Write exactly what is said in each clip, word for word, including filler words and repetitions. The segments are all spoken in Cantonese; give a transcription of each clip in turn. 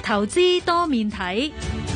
投資多面睇。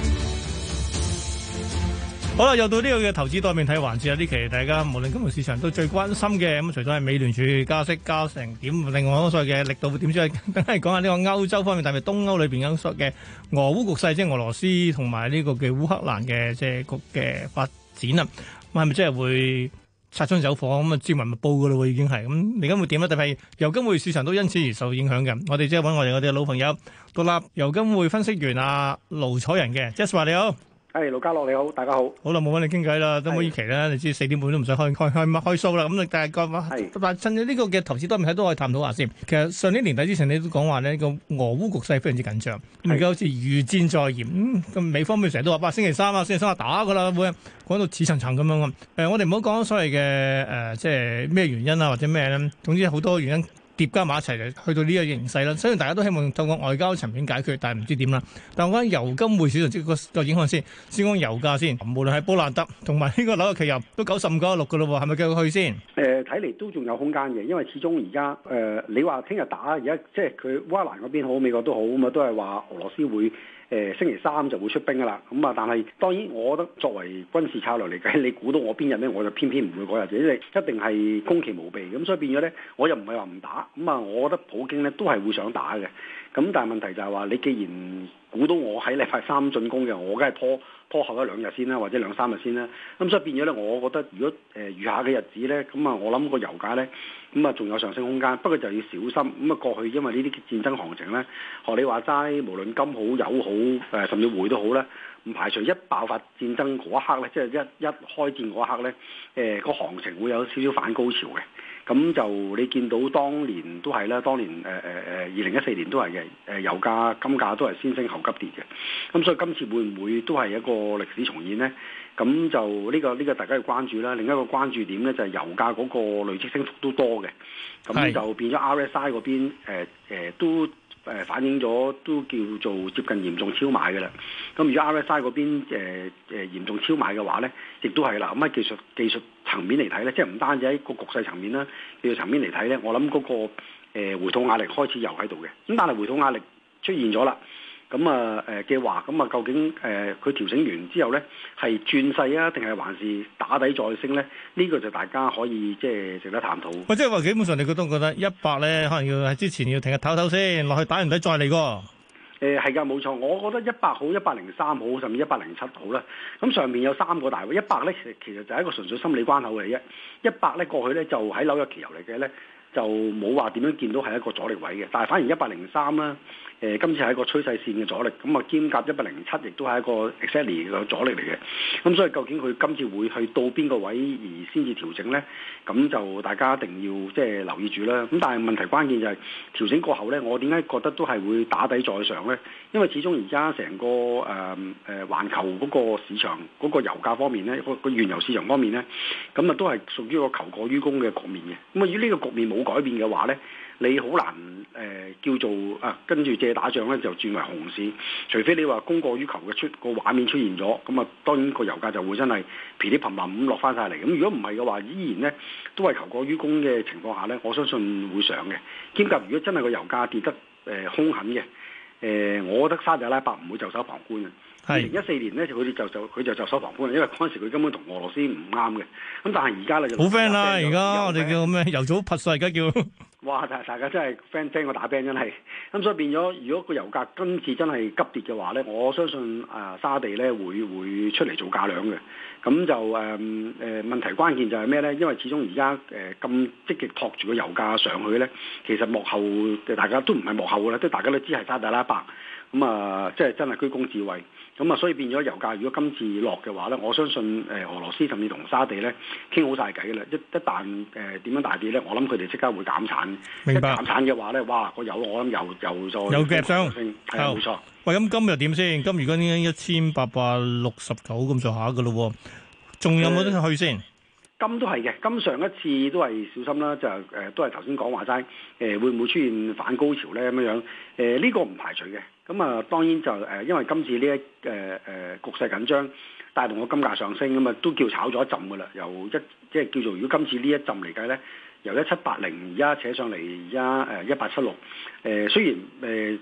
好啦，又到呢個嘅投資多面睇環節啦。呢期大家無論金融市場都最關心嘅，咁除咗係美聯儲加息加成點，另外嗰所謂嘅力度點之外，梗係講下呢個歐洲方面，特別東歐裏邊嗰所嘅俄烏局勢，即係俄羅斯同埋呢個嘅烏克蘭嘅即係局嘅發展啊。咁係咪真係會擦槍走火咁啊？朝聞密報噶咯，已經係咁。而家會點咧？特別係油金匯市場都因此而受影響嘅。我哋即係揾我哋我哋嘅老朋友獨立油金匯分析員阿盧楚仁嘅 Jasper 你好。 係盧家樂你好，大家好。 好啦，冇揾你傾偈啦，都冇呢期啦，你知四點半都唔使開開開開 show 啦。咁你但係講，但係趁住呢個嘅投資多面睇都可以探討下先。其實上年年底之前你都講話呢個俄烏局勢非常之緊張，咁而家好似如箭在弦。咁、嗯、美方面成日都話，哇星期三啊，星期三啊打噶啦，會講到似層層咁樣。誒、呃，我哋唔好講所謂嘅誒、呃，即係咩原因啊，或者咩咧，總之好多原因。疊加埋一齊就去到呢個形勢啦，雖然大家都希望透過外交層面解決，但係唔知點啦。但係我講油金匯市場即個個影響先，先講油價先。無論係布蘭特同埋呢個紐約期油都九十五九十六嘅咯喎，係咪繼續去先？ 誒睇嚟都仲有空間嘅，因為始終而家誒你話聽日打，而家即係佢烏克蘭嗰邊好，美國都好咁啊，都係話俄羅斯會。誒、呃、星期三就會出兵噶啦，咁、嗯、啊，但係當然，我覺得作為軍事策略嚟計，你估到我邊日咧，我就偏偏唔會嗰日，因為一定係攻其無備，咁、嗯、所以變咗咧，我又唔係話唔打，咁、嗯、啊，我覺得普京咧都係會想打嘅，咁、嗯、但係問題就係話，你既然估到我喺禮拜三進攻嘅，我梗係拖拖後一兩日先啦，或者兩三日先啦，咁、嗯、所以變咗咧，我覺得如果誒、呃、餘下嘅日子咧，咁、嗯、啊，我諗個油價咧，咁啊仲有上升空間，不過就要小心，咁、嗯、啊過去因為呢啲戰爭行情咧，學你話齋，無論金好油好。誒、呃、甚至匯都好啦，唔排除一爆發戰爭嗰一刻咧，即係一一開戰嗰一刻咧，誒、呃、個行情會有少少反高潮嘅。咁就你見到當年都係啦，當年誒誒誒二零一四年都係嘅，誒油價金價都係先升後急跌嘅。咁所以今次會唔會都係一個歷史重演呢？咁就呢、呢個呢、呢個大家要關注啦。另一個關注點咧就係油價嗰個累積升幅都多嘅，咁就變咗 R S I 嗰邊誒、呃呃、都。誒反映咗都叫做接近嚴重超買嘅啦。咁如果 R S I 嗰邊誒誒、呃、嚴重超買嘅話咧，亦都係啦。咁喺技術技術層面嚟睇咧，即係唔單止喺個局勢層面啦，技術層面嚟睇咧，我諗嗰、嗰個、呃、回吐壓力開始又喺度嘅。咁但係回吐壓力出現咗啦。咁啊誒嘅話，咁啊究竟誒佢、呃、調整完之後咧，係轉勢啊，定係還是打底再升咧？呢、這個就大家可以即係值得探討。 喂，即係話基本上你覺得覺得一百咧，可能要喺之前要停日唞唞先，落去打完底再嚟個。 誒係㗎，冇錯。我覺得一百好，一百零三好，甚至一百零七好啦。咁上面有三個大位，一百咧其實就係一個純粹心理關口嚟嘅。一百咧過去咧就喺紐約期油嚟嘅咧，就冇話點樣見到係一個阻力位嘅。但係反而一百零三啦。誒、呃、今次係一個趨勢線嘅阻力，咁啊兼夾一百零七，亦都係一個 exactly 嘅阻力嚟嘅。咁所以究竟佢今次會去到邊個位而先至調整咧？咁就大家一定要即係留意住啦。咁但係問題關鍵就係、是、調整過後咧，我點解覺得都係會打底再上咧？因為始終而家成個誒誒、呃、環球嗰個市場嗰、那個油價方面咧，個個原油市場方面咧，咁啊都係屬於一個求過於供嘅局面嘅。咁啊，如果呢個局面冇改變嘅話咧，你好難誒、呃、叫做啊跟住借打仗咧就轉為熊市，除非你話供過於求嘅出個畫面出現咗，咁啊當然個油價就會真係噼里啪啦咁落翻晒嚟。咁如果唔係嘅話，依然咧都係求過於供嘅情況下咧，我相信會上嘅。兼夾如果真係個油價跌得誒、呃、兇狠嘅，誒、呃、我覺得沙特阿拉伯唔會袖手旁觀嘅。二零一四年咧，佢哋就就佢就袖手旁觀，因為嗰陣時佢根本同俄羅斯唔啱嘅。咁但係而家咧就好 friend 啦，而家我哋叫咩？油早潑水，而家叫哇！大大家真係 friend friend 過打 band 真係。咁所以變咗，如果個油價今次真係急跌嘅話咧，我相信啊、呃、沙地咧會會出嚟做價量嘅。咁就誒誒、呃、問題關鍵就係咩咧？因為始終而家誒咁積極托住個油價上去咧，其實幕後嘅大家都唔係幕後嘅啦，即係大家都知係沙特阿拉伯。咁啊，即係真係居功至偉。咁啊，所以變咗油價，如果今次落嘅話咧，我相信誒俄羅斯甚至同沙地咧傾好晒偈嘅啦。一一旦誒點樣大跌咧，我諗佢哋即刻會減產。 明白。 一減產嘅話咧，哇！個油我諗又又再有夾上升，係冇錯。 喂，咁今日點先？今如果已經一千八百六十九咁上下嘅咯，仲有冇得去先？ 金都係嘅，金上一次都係小心啦，就誒、呃、都係頭先講話齋，誒、呃、會唔會出現反高潮咧咁樣樣？誒、呃、呢、這個唔排除嘅。咁啊，當然就誒、呃，因為今次呢一誒誒、呃、局勢緊張，帶動個金價上升，咁啊都叫炒咗一陣噶啦。由一即係叫做，如果今次呢一陣嚟計咧，由一七八零而家扯上嚟而家誒一八七六，誒雖然誒。呃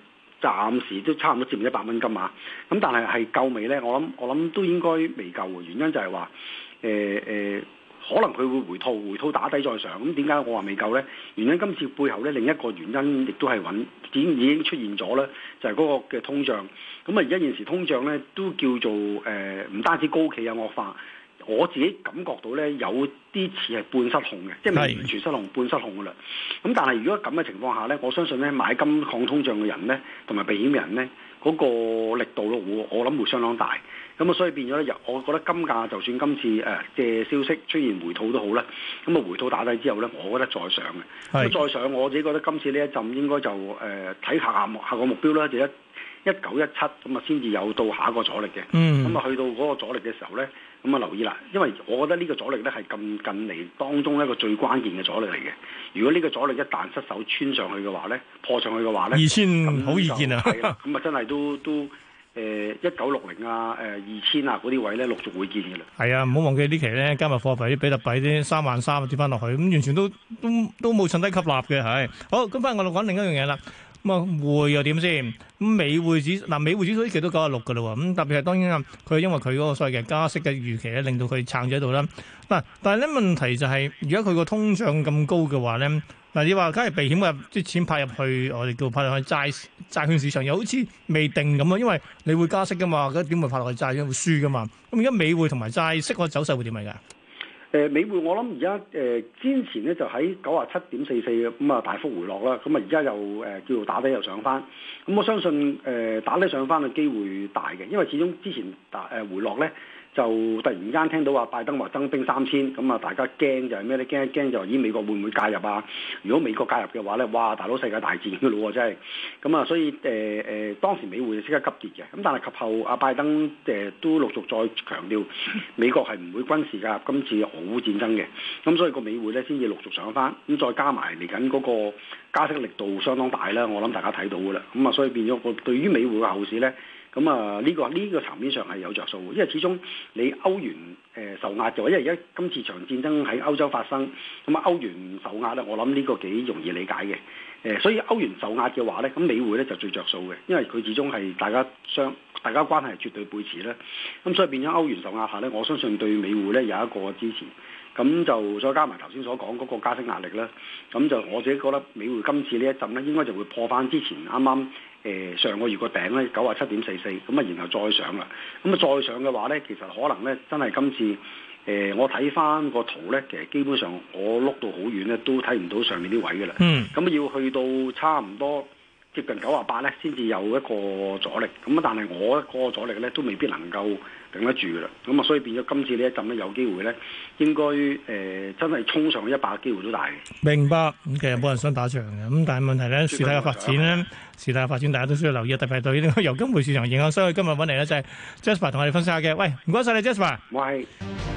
暫時都差唔多接近一百蚊金啊。咁但係係夠未咧？我諗我諗都應該未夠嘅，原因就係話誒誒，可能佢會回吐，回吐打低再上。咁點解我話未夠咧？原因今次背後咧另一個原因亦都係穩，已經已經出現咗咧，就係、是、嗰個嘅通脹。咁啊而家現時通脹咧都叫做誒唔、呃、單止高企啊惡化。我自己感覺到咧，有啲似係半失控嘅，即係未完全失控，半失控噶啦。咁但係如果咁嘅情況下咧，我相信咧買金抗通脹嘅人咧，同埋避險嘅人咧，嗰、那個力度咯，我我諗會相當大。咁啊，所以變咗咧，我覺得金價就算今次誒嘅、呃、消息出現回吐都好啦。咁啊，回吐打低之後咧，我覺得再上嘅。咁再上，我自己覺得今次呢一陣應該就誒睇下下下個目標啦，就一一九一七咁啊，先至有到下一個阻力嘅。嗯。咁啊，去到嗰個阻力嘅時候咧。咁啊，留意啦，因為我覺得呢個阻力咧係近近嚟當中一個最關鍵嘅阻力嚟嘅。如果呢個阻力一旦失手穿上去嘅話咧，破上去嘅話咧， 二千好易見啊！ 係啦，咁啊真係都都誒一九六零啊，誒二千啊嗰啲位咧陸續會見嘅啦。係啊，唔好忘記呢期咧加密貨幣啲比特幣啲三萬三跌翻落去，咁完全都都都冇趁低吸納嘅係。好，咁翻嚟我哋講另一樣嘢啦。咁啊，匯又點先？咁美匯指嗱，美匯指數呢期都九十六嘅啦喎。咁特別係當然啊，佢因為佢嗰個所謂嘅加息嘅預期咧，令到佢撐咗喺度啦。嗱，但係咧問題就係，而家佢個通脹咁高嘅話咧，嗱你話假如避險嘅啲錢派入去，我哋叫派落去債債券市場，又好似未定咁啊，因為你會加息噶嘛，咁點會派落去債券會輸噶嘛？咁而家美匯同埋債息個走勢會點嚟㗎？ 誒美匯我諗而家誒之前咧就喺九啊七點四四嘅咁啊大幅回落啦，咁啊而家又誒、呃、叫做打低又上翻，咁我相信誒、呃、打低上翻嘅機會大嘅，因為始終之前打誒、呃、回落咧就突然間聽到話拜登話增兵三千，咁啊大家驚就係咩咧？驚一驚就話咦美國會唔會介入啊？如果美國介入嘅話咧，哇大佬世界大戰嘅咯喎真係，咁啊所以誒誒、呃、當時美匯就即刻急跌嘅，咁但係及後阿拜登誒、呃、都陸續再強調美國係唔會軍事介入今次俄烏戰爭嘅，咁所以個美匯咧先至陸續上翻，咁再加埋嚟緊嗰個加息力度相當大啦，我諗大家睇到噶啦，咁啊所以變咗個對於美匯嘅後市咧。咁啊，呢、這個呢、這個層面上係有着數嘅，因為始終你歐元誒、呃、受壓嘅話，因為而家今次場戰爭喺歐洲發生，咁啊歐元受壓咧，我諗呢個幾容易理解嘅。誒、呃，所以歐元受壓嘅話咧，咁美匯咧就最着數嘅，因為佢始終係大家相大家關係係絕對背馳咧，咁所以變咗歐元受壓下咧，我相信對美匯咧有一個支持。咁就再加埋頭先所講嗰個加息壓力啦，咁就我自己覺得美匯今次呢一陣咧，應該就會破翻之前啱啱誒上個月個頂咧九啊七點四四，咁啊然後再上啦，咁啊再上嘅話咧，其實可能咧真係今次誒、呃、我睇翻個圖咧，其實基本上我碌到好遠咧，都睇唔到上面啲位嘅啦。嗯，咁要去到差唔多接近九啊八咧，先至有一個阻力。咁啊，但係我個阻力咧都未必能夠頂得住噶啦。咁啊，所以變咗今次呢一陣咧，有機會咧，應該誒、呃、真係衝上一百嘅機會都大嘅。明白。咁其實冇人想打仗嘅。咁但係問題咧，事態嘅發展咧，事態嘅發展大家都需要留意，特別係對呢個油金匯市場影響。所以今日揾嚟咧就係 Jasper 同我哋分析下嘅。喂，唔該晒你 Jasper。喂。